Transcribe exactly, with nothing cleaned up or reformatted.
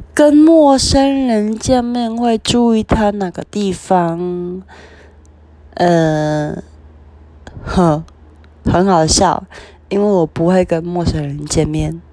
跟陌生人见面会注意他哪个地方？呃，呵，很好笑，因为我不会跟陌生人见面。